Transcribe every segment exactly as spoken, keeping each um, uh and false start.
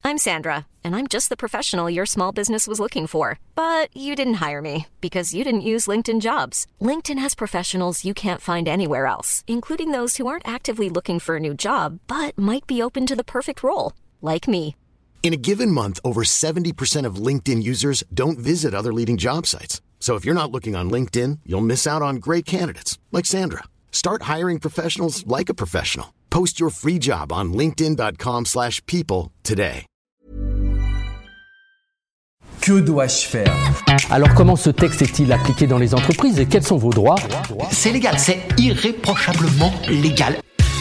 I'm Sandra, and I'm just the professional your small business was looking for. But you didn't hire me because you didn't use LinkedIn Jobs. LinkedIn has professionals you can't find anywhere else, including those who aren't actively looking for a new job, but might be open to the perfect role, like me. In a given month, over seventy percent of LinkedIn users don't visit other leading job sites. So if you're not looking on LinkedIn, you'll miss out on great candidates, like Sandra. Start hiring professionals like a professional. Post your free job on linkedin.com slash people today. Que dois-je faire ? Alors comment ce texte est-il appliqué dans les entreprises et quels sont vos droits ? C'est légal, c'est irréprochablement légal.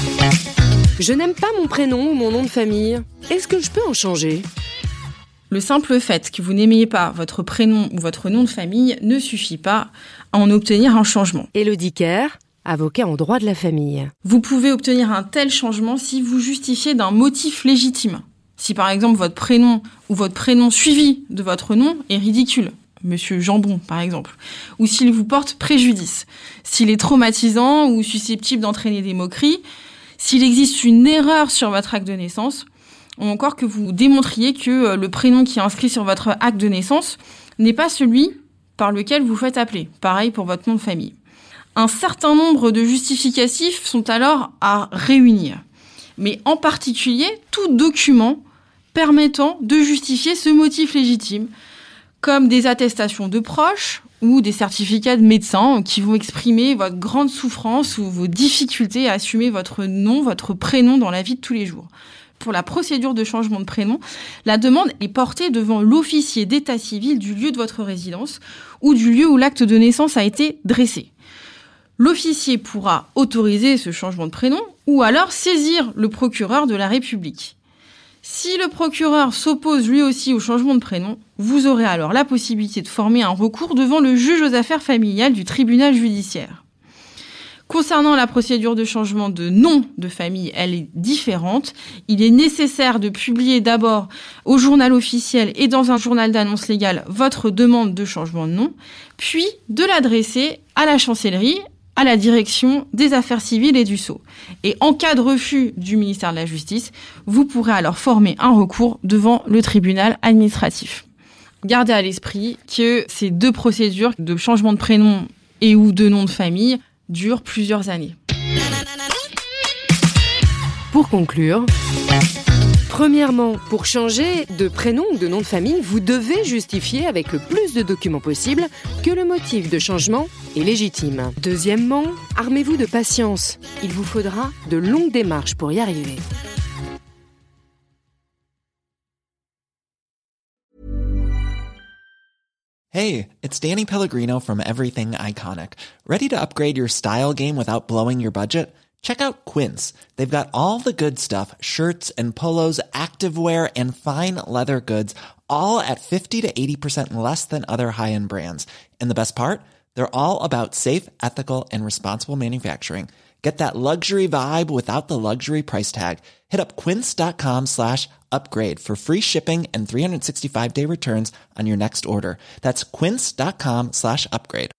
Je n'aime pas mon prénom ou mon nom de famille. Est-ce que je peux en changer ? Le simple fait que vous n'aimiez pas votre prénom ou votre nom de famille ne suffit pas à en obtenir un changement. Élodie Kerr, avocat en droit de la famille. Vous pouvez obtenir un tel changement si vous justifiez d'un motif légitime. Si par exemple votre prénom ou votre prénom suivi de votre nom est ridicule, Monsieur Jambon par exemple, ou s'il vous porte préjudice, s'il est traumatisant ou susceptible d'entraîner des moqueries, s'il existe une erreur sur votre acte de naissance, ou encore que vous démontriez que le prénom qui est inscrit sur votre acte de naissance n'est pas celui par lequel vous faites appeler. Pareil pour votre nom de famille. Un certain nombre de justificatifs sont alors à réunir. Mais en particulier, tout document permettant de justifier ce motif légitime, comme des attestations de proches ou des certificats de médecins qui vont exprimer votre grande souffrance ou vos difficultés à assumer votre nom, votre prénom dans la vie de tous les jours. Pour la procédure de changement de prénom, la demande est portée devant l'officier d'état civil du lieu de votre résidence ou du lieu où l'acte de naissance a été dressé. L'officier pourra autoriser ce changement de prénom ou alors saisir le procureur de la République. Si le procureur s'oppose lui aussi au changement de prénom, vous aurez alors la possibilité de former un recours devant le juge aux affaires familiales du tribunal judiciaire. Concernant la procédure de changement de nom de famille, elle est différente. Il est nécessaire de publier d'abord au journal officiel et dans un journal d'annonce légale votre demande de changement de nom, puis de l'adresser à la chancellerie, à la direction des affaires civiles et du sceau. Et en cas de refus du ministère de la Justice, vous pourrez alors former un recours devant le tribunal administratif. Gardez à l'esprit que ces deux procédures de changement de prénom et ou de nom de famille durent plusieurs années. Pour conclure, premièrement, pour changer de prénom ou de nom de famille, vous devez justifier avec le plus de documents possible que le motif de changement est légitime. Deuxièmement, armez-vous de patience. Il vous faudra de longues démarches pour y arriver. Hey, it's Danny Pellegrino from Everything Iconic. Ready to upgrade your style game without blowing your budget? Check out Quince. They've got all the good stuff, shirts and polos, activewear, and fine leather goods, all at fifty to eighty percent less than other high-end brands. And the best part? They're all about safe, ethical, and responsible manufacturing. Get that luxury vibe without the luxury price tag. Hit up quince.com slash upgrade for free shipping and three sixty-five day returns on your next order. That's quince.com slash upgrade.